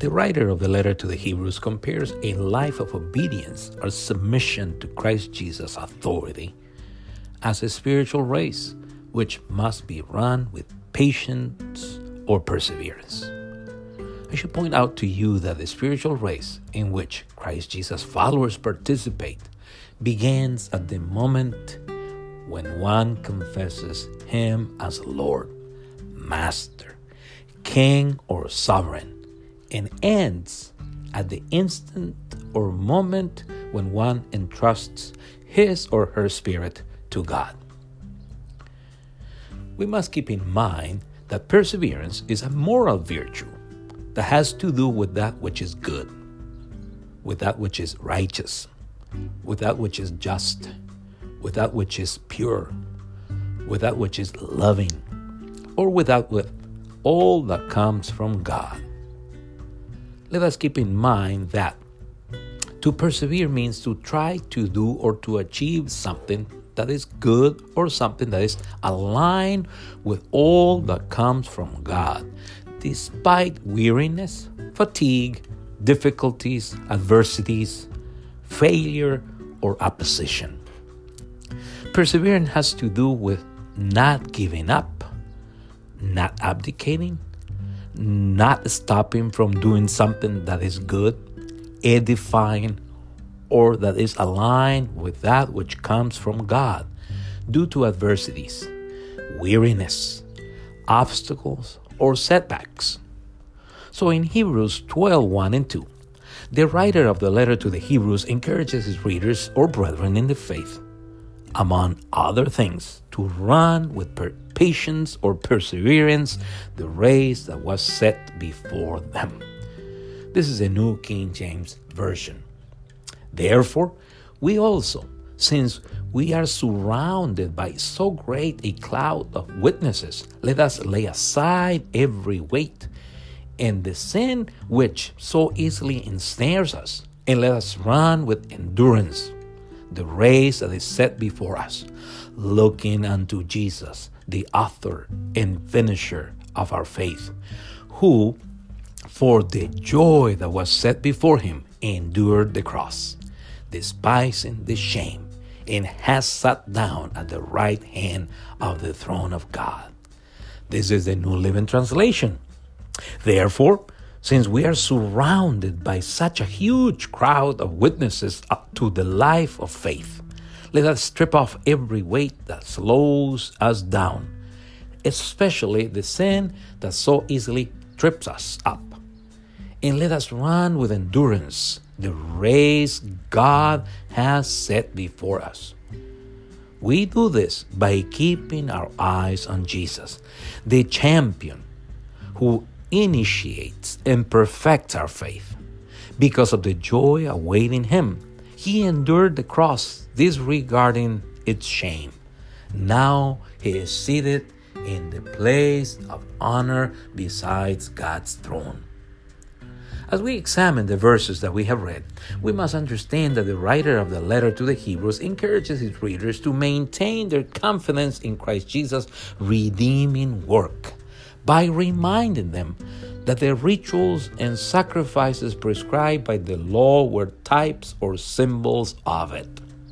The writer of the letter to the Hebrews compares a life of obedience or submission to Christ Jesus' authority as a spiritual race which must be run with patience or perseverance. I should point out to you that the spiritual race in which Christ Jesus' followers participate begins at the moment when one confesses Him as Lord, Master, King, or Sovereign, and ends at the instant or moment when one entrusts his or her spirit to God. We must keep in mind that perseverance is a moral virtue that has to do with that which is good, with that which is righteous, with that which is just, with that which is pure, with that which is loving, or with all that comes from God. Let us keep in mind that to persevere means to try to do or to achieve something that is good or something that is aligned with all that comes from God, despite weariness, fatigue, difficulties, adversities, failure, or opposition. Perseverance has to do with not giving up, not abdicating, not stopping from doing something that is good, edifying, or that is aligned with that which comes from God due to adversities, weariness, obstacles, or setbacks. So in Hebrews 12:1 and 2, the writer of the letter to the Hebrews encourages his readers or brethren in the faith, among other things, to run with patience or perseverance the race that was set before them. This is a New King James Version. Therefore, we also, since we are surrounded by so great a cloud of witnesses, let us lay aside every weight and the sin which so easily ensnares us, and let us run with endurance the race that is set before us, looking unto Jesus, the author and finisher of our faith, who, for the joy that was set before him, endured the cross, despising the shame, and has sat down at the right hand of the throne of God. This is the New Living Translation. Therefore, since we are surrounded by such a huge crowd of witnesses up to the life of faith, let us strip off every weight that slows us down, especially the sin that so easily trips us up. And let us run with endurance the race God has set before us. We do this by keeping our eyes on Jesus, the champion who initiates and perfects our faith. Because of the joy awaiting him, he endured the cross, disregarding its shame. Now he is seated in the place of honor beside God's throne. As we examine the verses that we have read, we must understand that the writer of the letter to the Hebrews encourages his readers to maintain their confidence in Christ Jesus' redeeming work by reminding them that the rituals and sacrifices prescribed by the law were types or symbols of it.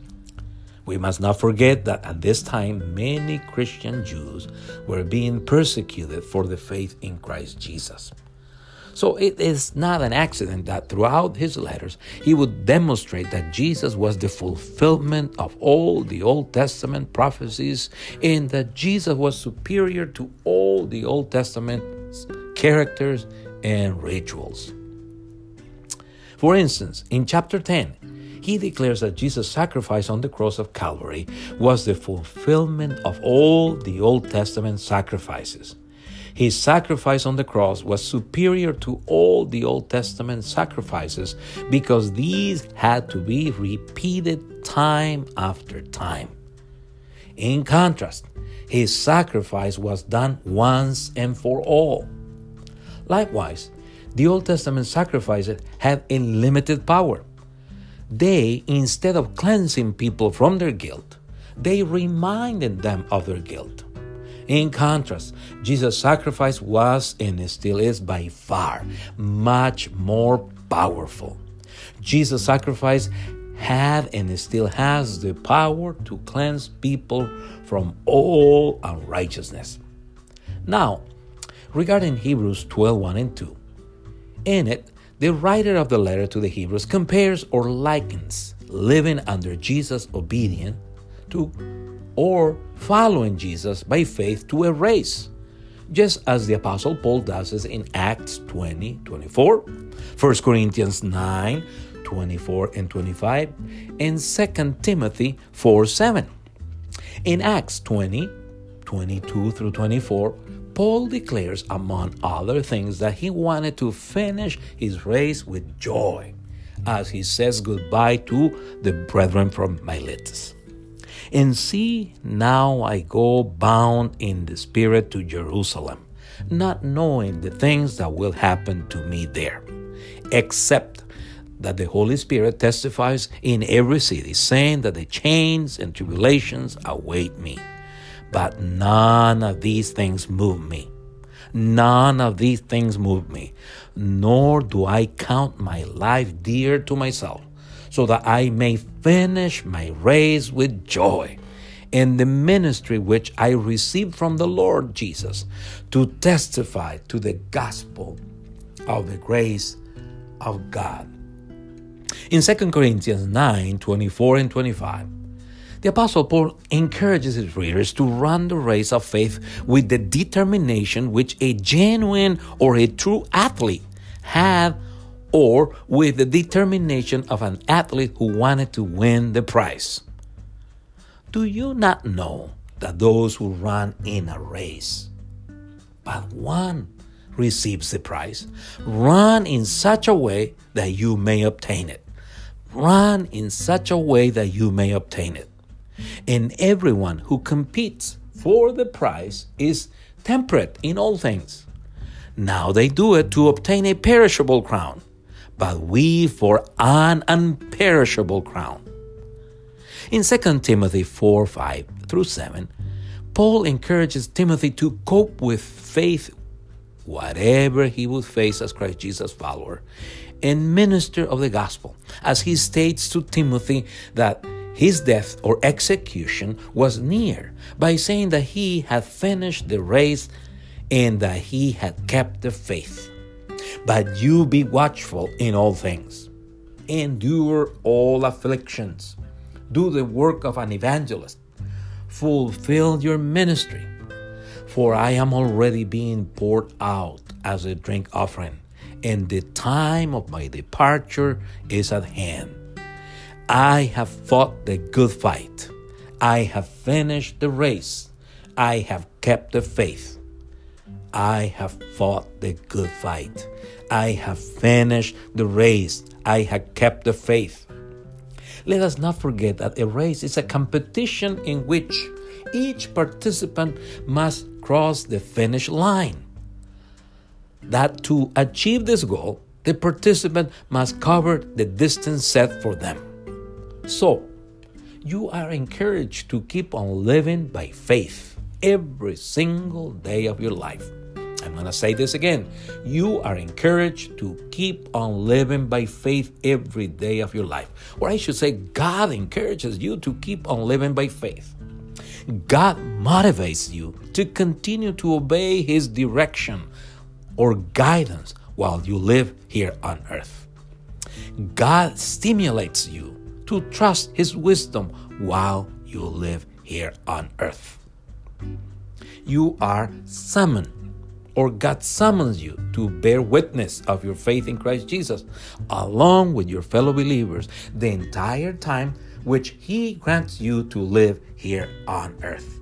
We must not forget that at this time, many Christian Jews were being persecuted for the faith in Christ Jesus. So it is not an accident that throughout his letters, he would demonstrate that Jesus was the fulfillment of all the Old Testament prophecies, and that Jesus was superior to all the Old Testament characters and rituals. For instance, in chapter 10, he declares that Jesus' sacrifice on the cross of Calvary was the fulfillment of all the Old Testament sacrifices. His sacrifice on the cross was superior to all the Old Testament sacrifices because these had to be repeated time after time. In contrast, his sacrifice was done once and for all. Likewise, the Old Testament sacrifices had a limited power. They, instead of cleansing people from their guilt, they reminded them of their guilt. In contrast, Jesus' sacrifice was and still is by far much more powerful. Jesus' sacrifice had and still has the power to cleanse people from all unrighteousness. Now, regarding Hebrews 12:1 and 2, in it, the writer of the letter to the Hebrews compares or likens living under Jesus' obedience to or following Jesus by faith to a race, just as the Apostle Paul does it in Acts 20:24, 1 Corinthians 9:24 and 25, and 2 Timothy 4:7. In Acts 20:22 through 24, Paul declares, among other things, that he wanted to finish his race with joy, as he says goodbye to the brethren from Miletus. And see, now I go bound in the Spirit to Jerusalem, not knowing the things that will happen to me there, except that the Holy Spirit testifies in every city, saying that the chains and tribulations await me. But none of these things move me. None of these things move me, nor do I count my life dear to myself, so that I may finish my race with joy in the ministry which I received from the Lord Jesus, to testify to the gospel of the grace of God. In 2 Corinthians 9:24 and 25, the Apostle Paul encourages his readers to run the race of faith with the determination which a genuine or a true athlete had, or with the determination of an athlete who wanted to win the prize. Do you not know that those who run in a race, but one receives the prize? Run in such a way that you may obtain it. Run in such a way that you may obtain it. And everyone who competes for the prize is temperate in all things. Now they do it to obtain a perishable crown, but we for an imperishable crown. In 2 Timothy 4:5 through 7, Paul encourages Timothy to cope with faith, whatever he would face as Christ Jesus' follower, and minister of the gospel, as he states to Timothy that his death or execution was near, by saying that he had finished the race and that he had kept the faith. But you be watchful in all things. Endure all afflictions. Do the work of an evangelist. Fulfill your ministry. For I am already being poured out as a drink offering, and the time of my departure is at hand. I have fought the good fight. I have finished the race. I have kept the faith. I have fought the good fight. I have finished the race. I have kept the faith. Let us not forget that a race is a competition in which each participant must cross the finish line. That to achieve this goal, the participant must cover the distance set for them. So, you are encouraged to keep on living by faith every single day of your life. I'm going to say this again. You are encouraged to keep on living by faith every day of your life. Or I should say, God encourages you to keep on living by faith. God motivates you to continue to obey His direction or guidance while you live here on earth. God stimulates you to trust His wisdom while you live here on earth. You are summoned, or God summons you to bear witness of your faith in Christ Jesus, along with your fellow believers, the entire time which He grants you to live here on earth.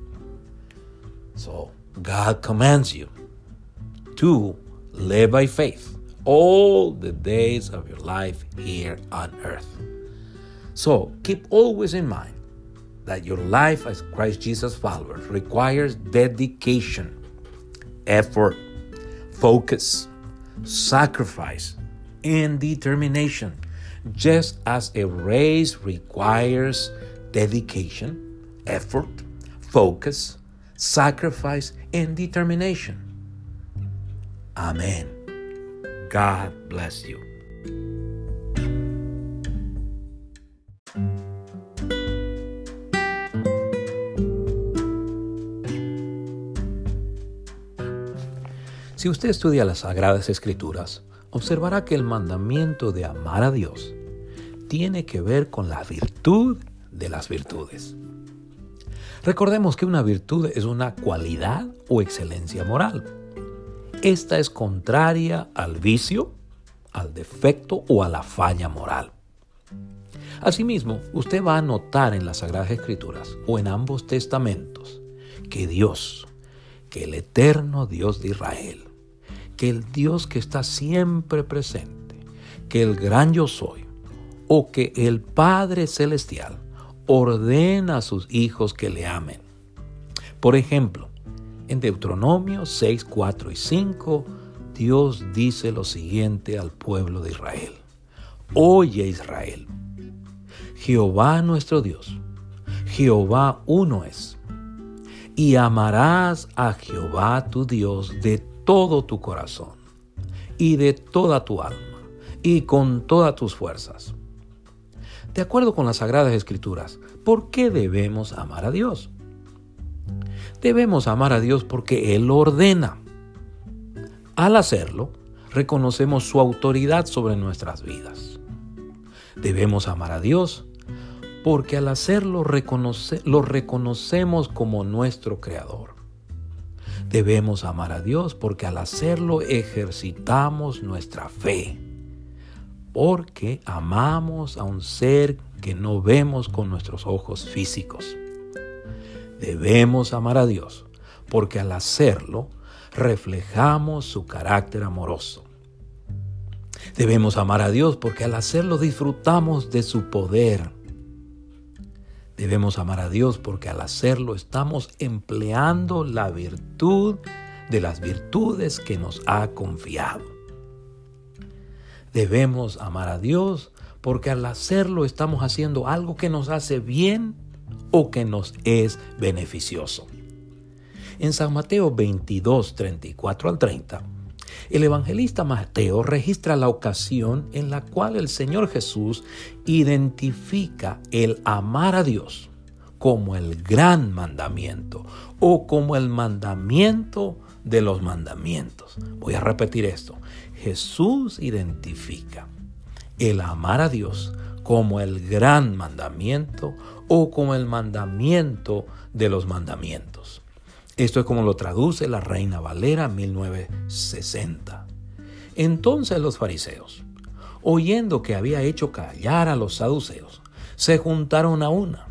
So, God commands you to live by faith all the days of your life here on earth. So, keep always in mind that your life as Christ Jesus followers requires dedication, effort, focus, sacrifice, and determination, just as a race requires dedication, effort, focus, sacrifice, and determination. Amen. God bless you. Si usted estudia las Sagradas Escrituras, observará que el mandamiento de amar a Dios tiene que ver con la virtud de las virtudes. Recordemos que una virtud es una cualidad o excelencia moral. Esta es contraria al vicio, al defecto o a la falla moral. Asimismo, usted va a notar en las Sagradas Escrituras o en ambos testamentos que Dios, que el eterno Dios de Israel, que el Dios que está siempre presente, que el gran yo soy, o que el Padre Celestial ordena a sus hijos que le amen. Por ejemplo, en Deuteronomio 6, 4 y 5, Dios dice lo siguiente al pueblo de Israel. Oye Israel, Jehová nuestro Dios, Jehová uno es, y amarás a Jehová tu Dios de todo tu corazón, y de toda tu alma, y con todas tus fuerzas. De acuerdo con las Sagradas Escrituras, ¿por qué debemos amar a Dios? Debemos amar a Dios porque Él lo ordena. Al hacerlo, reconocemos su autoridad sobre nuestras vidas. Debemos amar a Dios porque al hacerlo lo reconocemos como nuestro Creador. Debemos amar a Dios porque al hacerlo ejercitamos nuestra fe, porque amamos a un ser que no vemos con nuestros ojos físicos. Debemos amar a Dios porque al hacerlo reflejamos su carácter amoroso. Debemos amar a Dios porque al hacerlo disfrutamos de su poder. Debemos amar a Dios porque al hacerlo estamos empleando la virtud de las virtudes que nos ha confiado. Debemos amar a Dios porque al hacerlo estamos haciendo algo que nos hace bien o que nos es beneficioso. En San Mateo 22, 34 al 30, el evangelista Mateo registra la ocasión en la cual el Señor Jesús identifica el amar a Dios como el gran mandamiento o como el mandamiento de los mandamientos. Voy a repetir esto. Jesús identifica el amar a Dios como el gran mandamiento o como el mandamiento de los mandamientos. Esto es como lo traduce la Reina Valera 1960. Entonces los fariseos, oyendo que había hecho callar a los saduceos, se juntaron a una.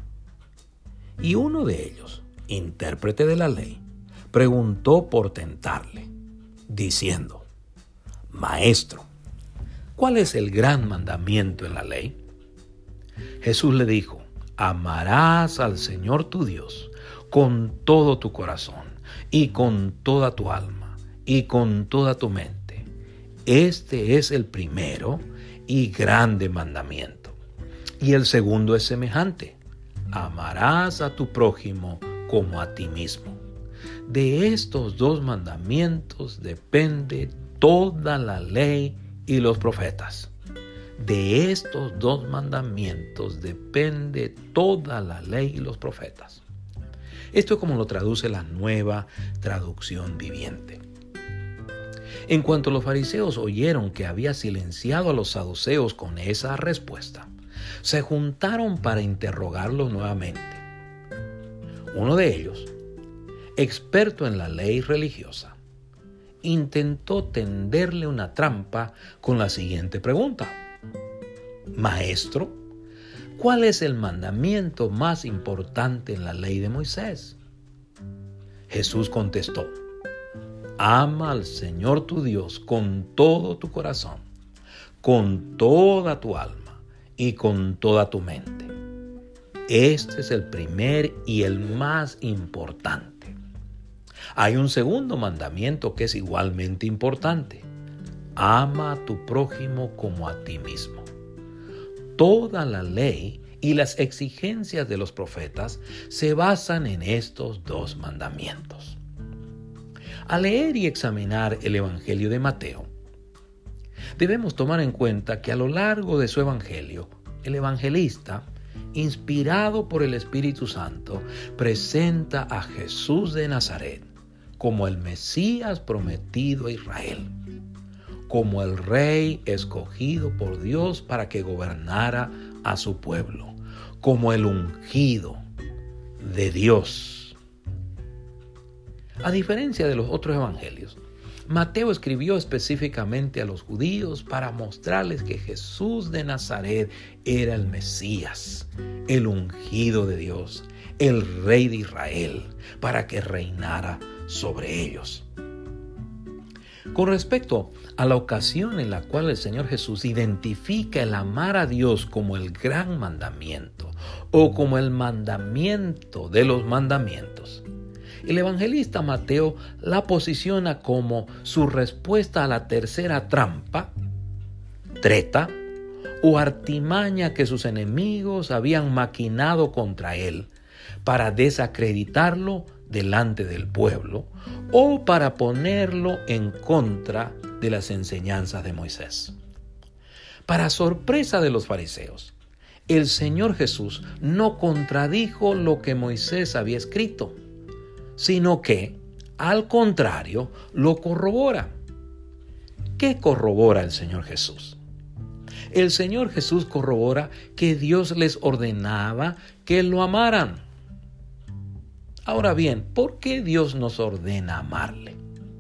Y uno de ellos, intérprete de la ley, preguntó por tentarle, diciendo: Maestro, ¿cuál es el gran mandamiento en la ley? Jesús le dijo: amarás al Señor tu Dios con todo tu corazón, y con toda tu alma, y con toda tu mente. Este es el primero y grande mandamiento. Y el segundo es semejante: amarás a tu prójimo como a ti mismo. De estos dos mandamientos depende toda la ley y los profetas. De estos dos mandamientos depende toda la ley y los profetas. Esto es como lo traduce la Nueva Traducción Viviente. En cuanto los fariseos oyeron que había silenciado a los saduceos con esa respuesta, se juntaron para interrogarlos nuevamente. Uno de ellos, experto en la ley religiosa, intentó tenderle una trampa con la siguiente pregunta: Maestro, ¿cuál es el mandamiento más importante en la ley de Moisés? Jesús contestó: ama al Señor tu Dios con todo tu corazón, con toda tu alma y con toda tu mente. Este es el primer y el más importante. Hay un segundo mandamiento que es igualmente importante: ama a tu prójimo como a ti mismo. Toda la ley y las exigencias de los profetas se basan en estos dos mandamientos. Al leer y examinar el Evangelio de Mateo, debemos tomar en cuenta que a lo largo de su Evangelio, el evangelista, inspirado por el Espíritu Santo, presenta a Jesús de Nazaret como el Mesías prometido a Israel, como el Rey escogido por Dios para que gobernara a su pueblo, como el ungido de Dios. A diferencia de los otros evangelios, Mateo escribió específicamente a los judíos para mostrarles que Jesús de Nazaret era el Mesías, el ungido de Dios, el Rey de Israel, para que reinara sobre ellos. Con respecto a la ocasión en la cual el Señor Jesús identifica el amar a Dios como el gran mandamiento o como el mandamiento de los mandamientos, el evangelista Mateo la posiciona como su respuesta a la tercera trampa, treta o artimaña que sus enemigos habían maquinado contra él para desacreditarlo delante del pueblo o para ponerlo en contra de las enseñanzas de Moisés. Para sorpresa de los fariseos, el Señor Jesús no contradijo lo que Moisés había escrito, sino que, al contrario, lo corrobora. ¿Qué corrobora el Señor Jesús? El Señor Jesús corrobora que Dios les ordenaba que lo amaran. Ahora bien, ¿por qué Dios nos ordena amarle?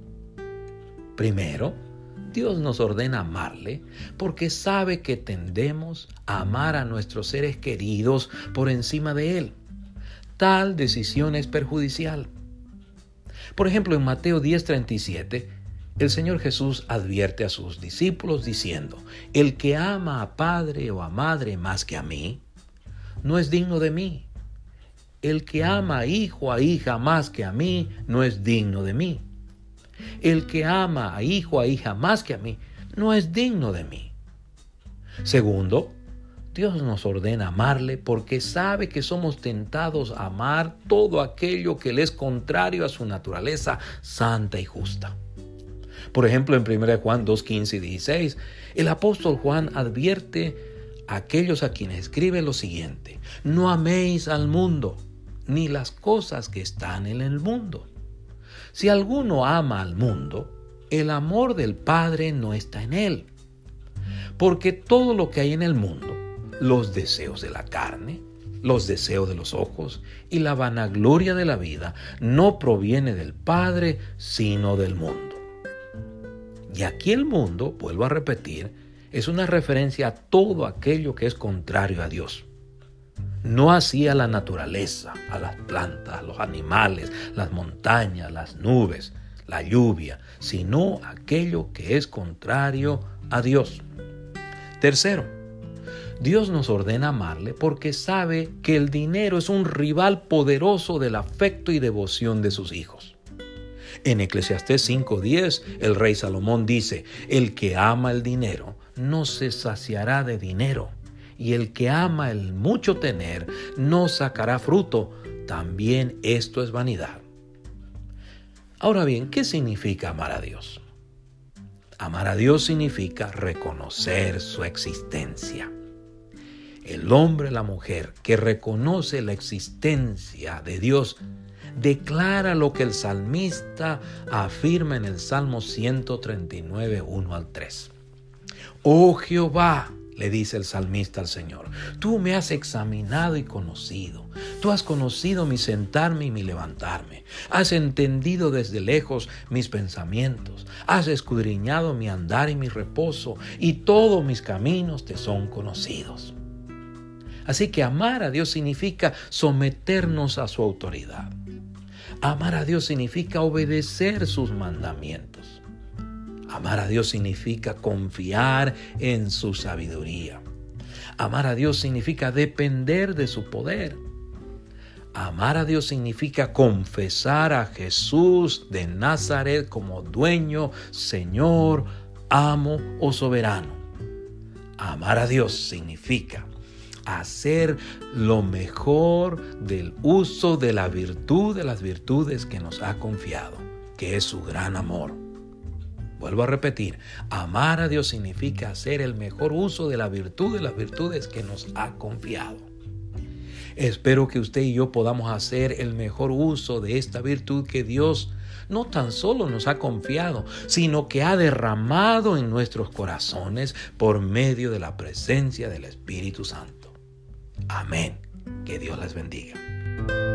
Primero, Dios nos ordena amarle porque sabe que tendemos a amar a nuestros seres queridos por encima de Él. Tal decisión es perjudicial. Por ejemplo, en Mateo 10:37, el Señor Jesús advierte a sus discípulos diciendo: el que ama a padre o a madre más que a mí, no es digno de mí. El que ama a hijo o a hija más que a mí, no es digno de mí. El que ama a hijo o a hija más que a mí, no es digno de mí. Segundo, Dios nos ordena amarle porque sabe que somos tentados a amar todo aquello que le es contrario a su naturaleza santa y justa. Por ejemplo, en 1 Juan 2:15 y 16, el apóstol Juan advierte a aquellos a quienes escribe lo siguiente: no améis al mundo, ni las cosas que están en el mundo. Si alguno ama al mundo, el amor del Padre no está en él. Porque todo lo que hay en el mundo, los deseos de la carne, los deseos de los ojos y la vanagloria de la vida, no proviene del Padre, sino del mundo. Y aquí el mundo, vuelvo a repetir, es una referencia a todo aquello que es contrario a Dios. No así a la naturaleza, a las plantas, los animales, las montañas, las nubes, la lluvia, sino aquello que es contrario a Dios. Tercero, Dios nos ordena amarle porque sabe que el dinero es un rival poderoso del afecto y devoción de sus hijos. En Eclesiastés 5:10, el rey Salomón dice: el que ama el dinero no se saciará de dinero, y el que ama el mucho tener no sacará fruto. También esto es vanidad. Ahora bien, ¿qué significa amar a Dios? Amar a Dios significa reconocer su existencia. El hombre, la mujer que reconoce la existencia de Dios, declara lo que el salmista afirma en el Salmo 139, 1 al 3. Oh Jehová, le dice el salmista al Señor, tú me has examinado y conocido. Tú has conocido mi sentarme y mi levantarme. Has entendido desde lejos mis pensamientos. Has escudriñado mi andar y mi reposo, y todos mis caminos te son conocidos. Así que amar a Dios significa someternos a su autoridad. Amar a Dios significa obedecer sus mandamientos. Amar a Dios significa confiar en su sabiduría. Amar a Dios significa depender de su poder. Amar a Dios significa confesar a Jesús de Nazaret como dueño, Señor, amo o soberano. Amar a Dios significa hacer lo mejor del uso de la virtud de las virtudes que nos ha confiado, que es su gran amor. Vuelvo a repetir, amar a Dios significa hacer el mejor uso de la virtud de las virtudes que nos ha confiado. Espero que usted y yo podamos hacer el mejor uso de esta virtud que Dios no tan solo nos ha confiado, sino que ha derramado en nuestros corazones por medio de la presencia del Espíritu Santo. Amén. Que Dios les bendiga.